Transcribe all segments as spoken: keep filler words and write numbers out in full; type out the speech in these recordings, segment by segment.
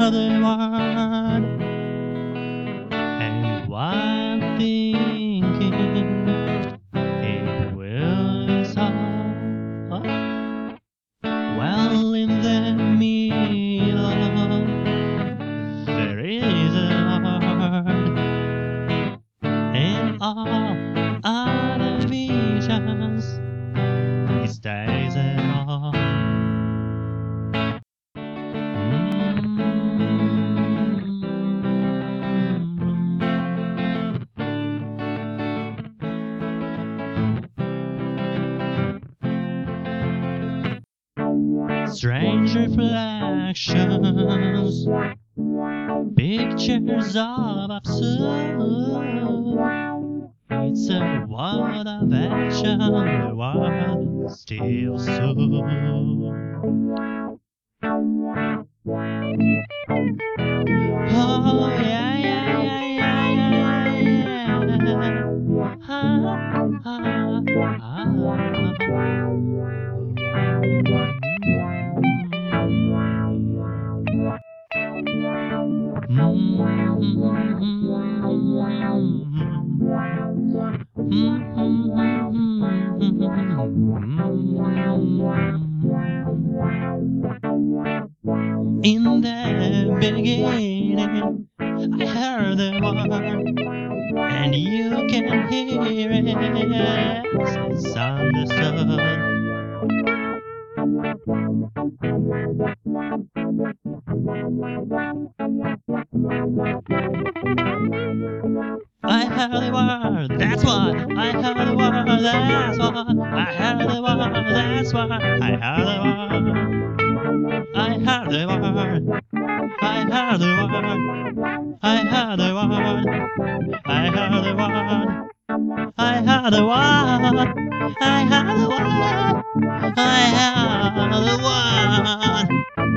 heard the word, and one thinking it will be so. Well, in the middle there is a heart, and all other visions it stays at home. Strange reflections, pictures of absurd. It's a world of action, the world still soon. Oh yeah, yeah, yeah, yeah, yeah, yeah. Ah, ah, ah. In the beginning, I heard the word, and you can hear it. It's understood. I heard the word, that's what. I heard the word, that's what. I heard the word, that's what. I heard the word. I heard the word. I heard the word. I heard the word. I heard the word. I heard the word. I heard the word. I heard the word.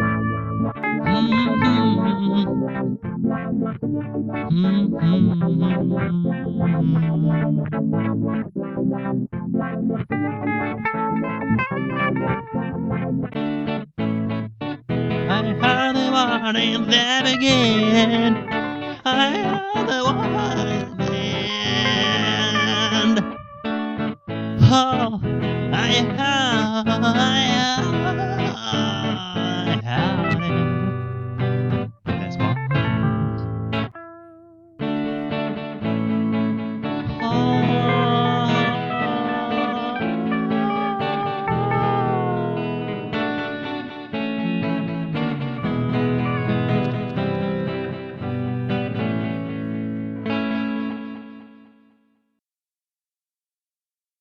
I heard the word in the beginning. I heard the word in the end. Oh, I heard, I